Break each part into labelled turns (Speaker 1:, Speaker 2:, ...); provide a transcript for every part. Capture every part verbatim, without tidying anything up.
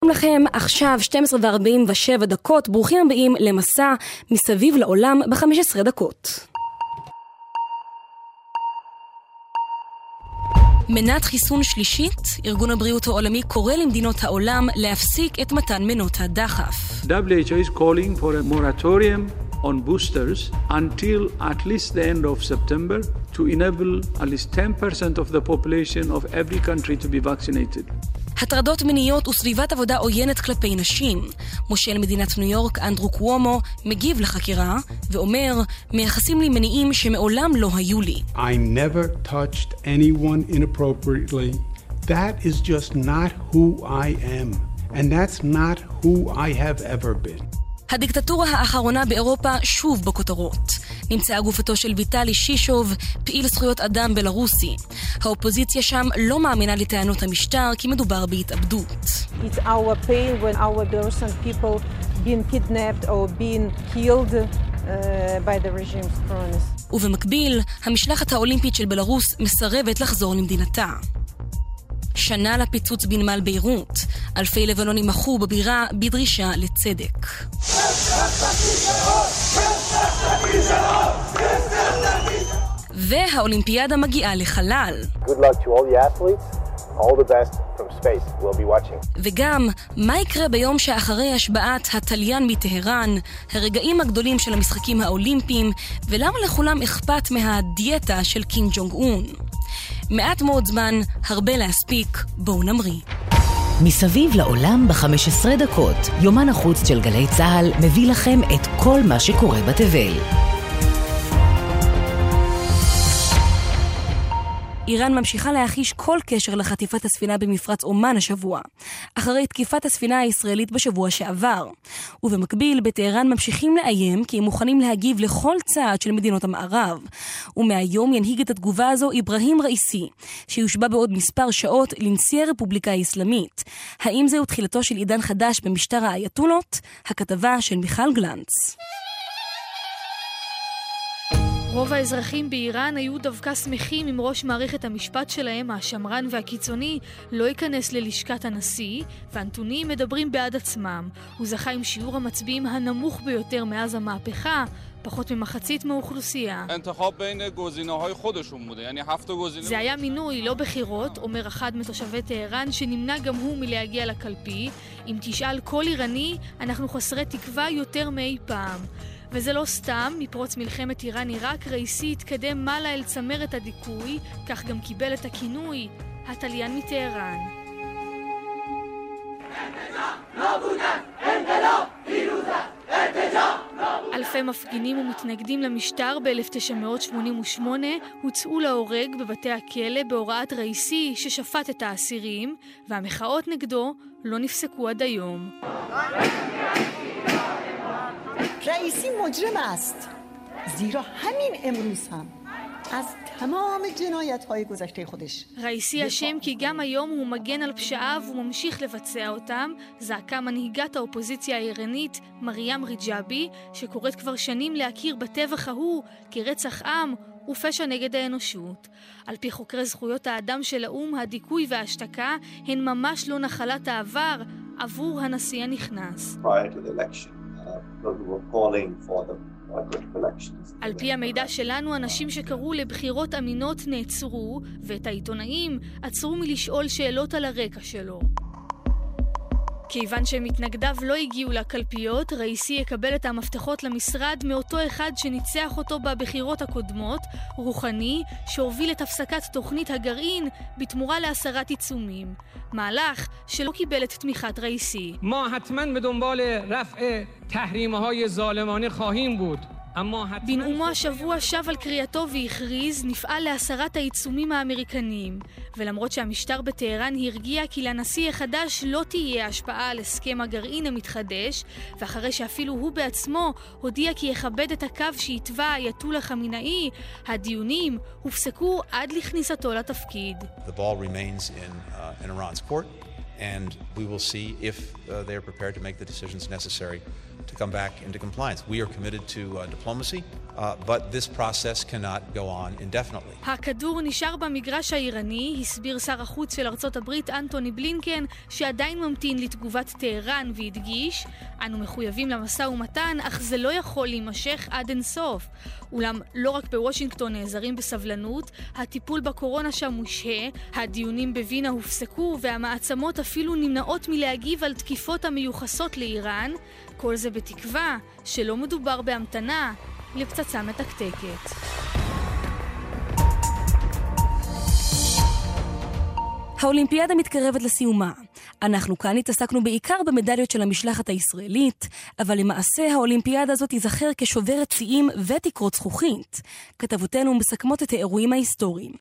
Speaker 1: שלום לכם, עכשיו שתים עשרה וארבעים ושבע דקות, ברוכים הבאים למסע מסביב לעולם ב-חמש עשרה דקות. מנת חיסון שלישית, ארגון הבריאות העולמי קורא למדינות העולם להפסיק את מתן מנות הדחף.
Speaker 2: W H O is calling for a moratorium on boosters until at least the end of September to enable at least ten percent of the population of every country to be vaccinated.
Speaker 1: הטרדות מיניות וסביבת עבודה עוינת כלפי נשים. מושל מדינת ניו יורק אנדרו קוומו מגיב לחקירה ואומר, מייחסים לי מניעים שמעולם לא היו לי.
Speaker 3: I never touched anyone inappropriately. That is just not who I am. And that's not who I have ever been.
Speaker 1: הדיקטטורה האחרונה באירופה שוב בכותרות. נמצאה גופתו של ויטלי שישוב, פעיל זכויות אדם בלרוסי. האופוזיציה שם לא מאמינה לטענות המשטר כי מדובר בהתאבדות.
Speaker 4: It's our pain when our innocent people being kidnapped or being killed uh, by the regime's cronies.
Speaker 1: ובמקביל, המשלחת האולימפית של בלרוס מסרבת לחזור למדינתה. שנה לפיצוץ בנמל ביירות. אלפי לבנונים מחו בבירה בדרישה לצדק. והאולימפיאדה מגיעה לחלל.
Speaker 5: Good luck to all the athletes. All the best from space. We'll be watching.
Speaker 1: וגם, מה יקרה ביום שאחרי השבעת התליין מטהרן, הרגעים הגדולים של המשחקים האולימפיים, ולמה לכולם אכפת מהדיאטה של קים ג'ונג און? מעט מאוד זמן, הרבה להספיק, בואו נמריא.
Speaker 6: מסביב לעולם ב-חמש עשרה דקות, יומן החוץ של גלי צהל מביא לכם את כל מה שקורה בתבל.
Speaker 1: איראן ממשיכה להחיש כל קשר לחטיפת הספינה במפרץ אומן השבוע, אחרי תקיפת הספינה הישראלית בשבוע שעבר. ובמקביל, בטהרן ממשיכים לאיים כי הם מוכנים להגיב לכל צעד של מדינות המערב. ומהיום ינהיג את התגובה הזו איברהים ראיסי, שיושבע בעוד מספר שעות לנשיא הרפובליקה האסלאמית. האם זהו תחילתו של עידן חדש במשטר האייתולות? הכתבה של מיכל גלנץ.
Speaker 7: רוב האזרחים באיראן היו דווקא שמחים אם ראש מערכת המשפט שלהם, השמרן והקיצוני, לא ייכנס ללשכת הנשיא, והנתונים מדברים בעד עצמם. הוא זכה עם שיעור המצביעים הנמוך ביותר מאז המהפכה, פחות ממחצית מהאוכלוסייה. זה היה מינוי, לא בחירות, אומר אחד מתושבי טהרן, שנמנע גם הוא מלהגיע לקלפי. אם תשאל כל איראני, אנחנו חסרי תקווה יותר מאי פעם. וזה לא סתם, מפרוץ מלחמת איראן-עיראק, ראיסי התקדם מעלה אל צמרת הדיכוי, כך גם קיבל את הכינוי, התליין מטהרן. אלפי מפגינים ומתנגדים למשטר ב-אלף תשע מאות שמונים ושמונה הוצאו להורג בבתי הכלא בהוראת ראיסי ששפט את האסירים, והמחאות נגדו לא נפסקו עד היום.
Speaker 8: رئیسی مجرم است زیرا همین امروز هم از تمام جنایت‌های گذشته خودش.
Speaker 7: ראיסי אשם כי גם היום הוא מגן על פשעיו וממשיך לבצע אותם, זעקה מנהיגת האופוזיציה האיראנית מרים ריג'אבי, שקוראת כבר שנים להכיר בטבח ההוא כרצח עם ופשע נגד האנושות. על פי חוקרי זכויות האדם של האום, הדיכוי וההשתקה הן ממש לא נחלת העבר עבור הנשיא הנכנס. על פי המידע שלנו, אנשים שקראו לבחירות אמינות נעצרו, ואת העיתונאים עצרו מלשאול שאלות על הרקע שלו. כיוון שמתנגדיו לא הגיעו לקלפיות, ראיסי יקבל את המפתחות למשרד מאותו אחד שניצח אותו בבחירות הקודמות, רוחני, שהוביל את הפסקת תוכנית הגרעין בתמורה להסרת עיצומים. מהלך שלא קיבל את תמיכת ראיסי.
Speaker 9: ما حتما به دنبال رفع تحریم‌های ظالمانه خواهیم بود.
Speaker 7: בנאומו השבוע שב על קריאתו והכריז, נפעל להסרת העיצומים האמריקניים. ולמרות שהמשטר בטהרן הרגיע כי לנשיא החדש לא תהיה השפעה על הסכם הגרעין המתחדש, ואחרי שאפילו הוא בעצמו הודיע כי יכבד את הקו שהתווה האייתוללה חמינאי, הדיונים הופסקו עד לכניסתו לתפקיד.
Speaker 10: The ball remains in, uh, in Iran's court, and we will see if uh, they are prepared to make the decisions necessary to come back into compliance. We are committed to uh, diplomacy, Uh, but this process cannot go on indefinitely.
Speaker 7: הכדור נשאר במגרש האיראני, הסביר שר החוץ של ארצות הברית אנטוני בלינקן, שעדיין ממתין לתגובת טהרן והדגיש, אנו מחויבים למשא ומתן, אך זה לא יכול להימשך עד אינסוף. אולם לא רק בוושינגטון נעזרים בסבלנות, הטיפול בקורונה שם מושהה, הדיונים בווינה הופסקו והמעצמות אפילו נמנעות מלהגיב על תקיפות המיוחסות לאיראן, כל זה בתקווה שלא מדובר בהמתנה לפצצה מתקתקת.
Speaker 1: האולימפיאדה מתקרבת לסיומה. אנחנו כאן התעסקנו בעיקר במדליות של המשלחת הישראלית, אבל למעשה האולימפיאדה הזאת תיזכר כשוברת שיאים ותקרות זכוכית. כתבותינו מסכמות את האירועים ההיסטוריים.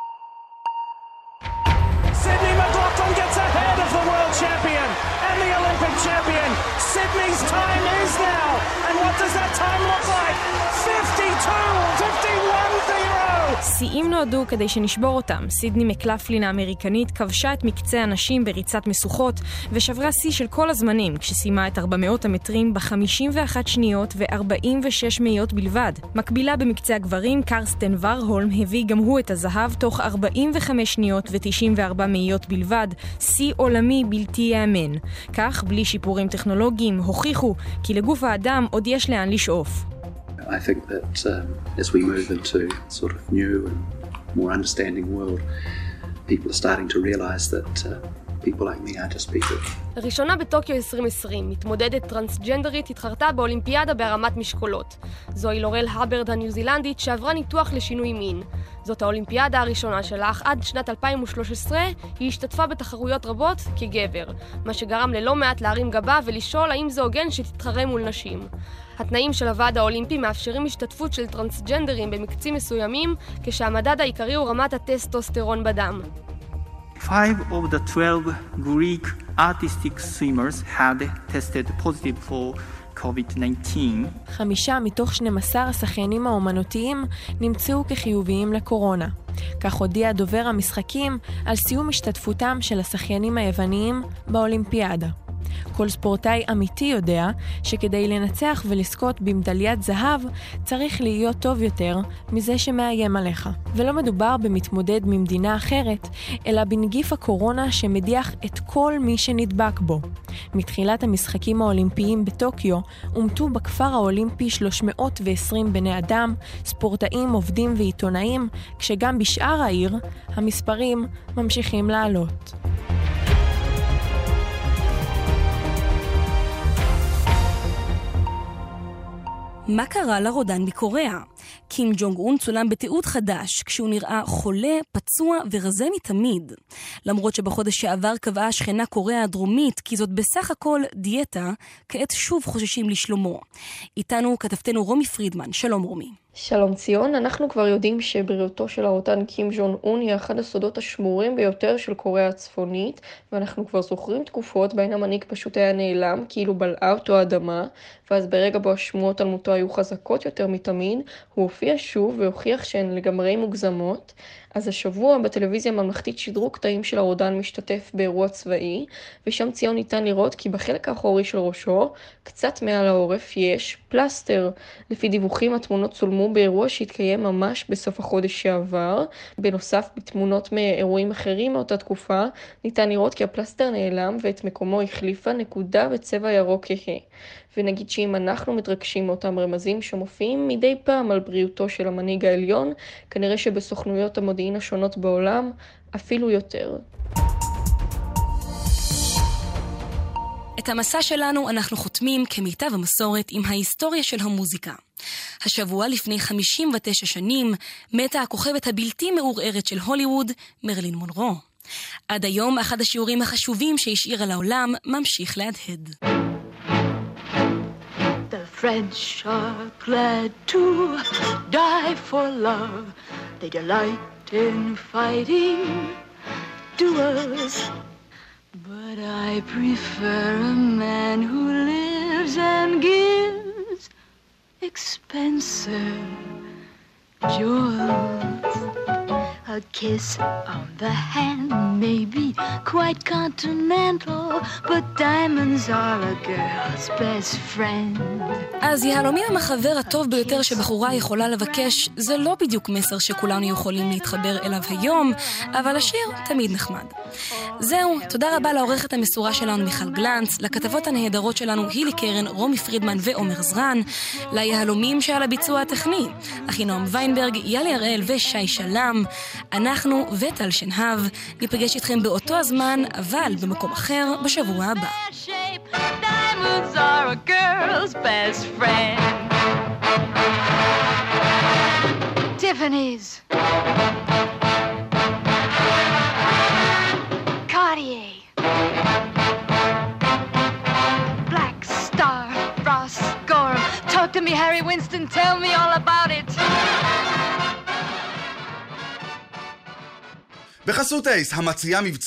Speaker 11: Sydney McLaughlin gets ahead of the world champion and the Olympic champion. Sydney's time is now. And what does that time look like? fifty-two fifty-one zero.
Speaker 12: שיאים נועדו כדי שנשבור אותם. סידני מקלפלין האמריקנית כבשה את מקצה הנשים בריצת משוכות ושברה שיא של כל הזמנים כשסיימה את ארבע מאות המטרים ב-חמישים ואחת שניות ו-ארבעים ושש מאיות בלבד. מקבילה במקצה הגברים, קרסטן ורהולם הביא גם הוא את הזהב תוך ארבעים וחמש שניות ו-תשעים וארבע מאיות בלבד, שיא עולמי בלתי יאמן. כך, בלי שיפורים טכנולוגיים, הוכיחו כי לגוף האדם עוד יש לאן לשאוף.
Speaker 13: I think that um, as we move into sort of new and more understanding world, people are starting to realize that uh, people like me are just people.
Speaker 14: ראשונה בטוקיו עשרים עשרים, מתמודדת טרנסג'נדרית התחרתה באולימפיאדה בהרמת משקולות. זוהי לורל הברד הניו זילנדית שעברה ניתוח לשינוי מין. זאת האולימפיאדה הראשונה שלה, אך עד שנת אלפיים ושלוש עשרה היא השתתפה בתחרויות רבות כגבר, מה שגרם ללא מעט להרים גבה ולשאול האם זה הוגן שתתחרה מול נשים. התנאים של הוועד האולימפי מאפשרים השתתפות של טרנסג'נדרים במקצים מסוימים, כשהמדד העיקרי הוא רמת הטסטוסטרון בדם.
Speaker 15: Five of the twelve Greek artistic swimmers had tested positive for קוביד תשע עשרה.
Speaker 12: חמישה מתוך שנים עשר השחיינים האומנותיים נמצאו כחיוביים לקורונה. כך הודיע דובר המשחקים על סיום השתתפותם של השחיינים היווניים באולימפיאדה. כל ספורטאי אמיתי יודע שכדי לנצח ולזכות במדליית זהב צריך להיות טוב יותר מזה שמאיים עליך. ולא מדובר במתמודד ממדינה אחרת, אלא בנגיף הקורונה שמדיח את כל מי שנדבק בו. מתחילת המשחקים האולימפיים בטוקיו אומתו בכפר האולימפי שלוש מאות ועשרים בני אדם, ספורטאים, עובדים ועיתונאים, כשגם בשאר העיר המספרים ממשיכים לעלות.
Speaker 1: מה קרה לרודן מקוריאה? קים ג'ונג און צולם בתיעוד חדש כשהוא נראה חולה, פצוע ורזה מתמיד. למרות שבחודש שעבר קבעה שכנה קוריאה הדרומית כי זאת בסך הכל דיאטה, כעת שוב חוששים לשלומו. איתנו כתבתנו רומי פרידמן. שלום רומי.
Speaker 16: שלום ציון, אנחנו כבר יודעים שבריאותו של הרודן קים ג'ונג און היא אחד הסודות השמורים ביותר של קוריאה הצפונית, ואנחנו כבר זוכרים תקופות בהן המנהיג פשוט היה נעלם, כאילו בלעה אותו האדמה, ואז ברגע בו השמועות על מותו היו חזקות יותר מתמיד, הוא הופיע שוב והוכיח שהן לגמרי מוגזמות. אז השבוע בטלוויזיה הממלכתית שידרו קטעים של הרודן משתתף באירוע צבאי, ושם ציון ניתן לראות כי בחלק האחורי של ראשו, קצת מעל העורף, יש פלסטר. לפי דיווחים התמונות צולמו באירוע שהתקיים ממש בסוף החודש שעבר. בנוסף, בתמונות מאירועים אחרים מאותה תקופה, ניתן לראות כי הפלסטר נעלם ואת מקומו החליפה נקודה בצבע ירוק כהה. ונגיד שאם אנחנו מתרגשים מאותם רמזים שמופיעים מדי פעם על בריאותו של המנהיג העליון, כנראה שבסוכנויות המודיעין השונות בעולם אפילו יותר.
Speaker 1: את המסע שלנו אנחנו חותמים כמיטב המסורת עם ההיסטוריה של המוזיקה. השבוע לפני חמישים ותשע שנים מתה הכוכבת הבלתי מעורערת של הוליווד, מרלין מונרו. עד היום אחד השיעורים החשובים שהשאירה לעולם ממשיך להדהד.
Speaker 17: The French are glad to die for love. They delight in fighting duels. But I prefer a man who lives and gives expensive jewels. A A kiss on the hand may be quite continental, but diamonds are a girl's best friend.
Speaker 1: אז יהלומים הם החבר הטוב ביותר שבחורה יכולה לבקש. זה לא בדיוק מסר שכולנו יכולים להתחבר אליו היום, אבל השיר תמיד נחמד. זהו, תודה רבה לעורכת המסורה שלנו מיכל גלנץ, לכתבות הנהדרות שלנו הילי קרן, רומי פרידמן ועומר זרן, ליהלומים שעל הביצוע הטכני, אחינועם ויינברג, יאלי הראל ושי שלם. אנחנו וטל שנהב ניפגש איתכם באותו הזמן, אבל במקום אחר בשבוע הבא.
Speaker 17: Diamonds are a girl's best friend. Tiffany's, Cartier, Black Star, Frost, Gorham. Talk to me, Harry Winston, tell me all about it.
Speaker 18: בחסות אייס, המציעה מבצע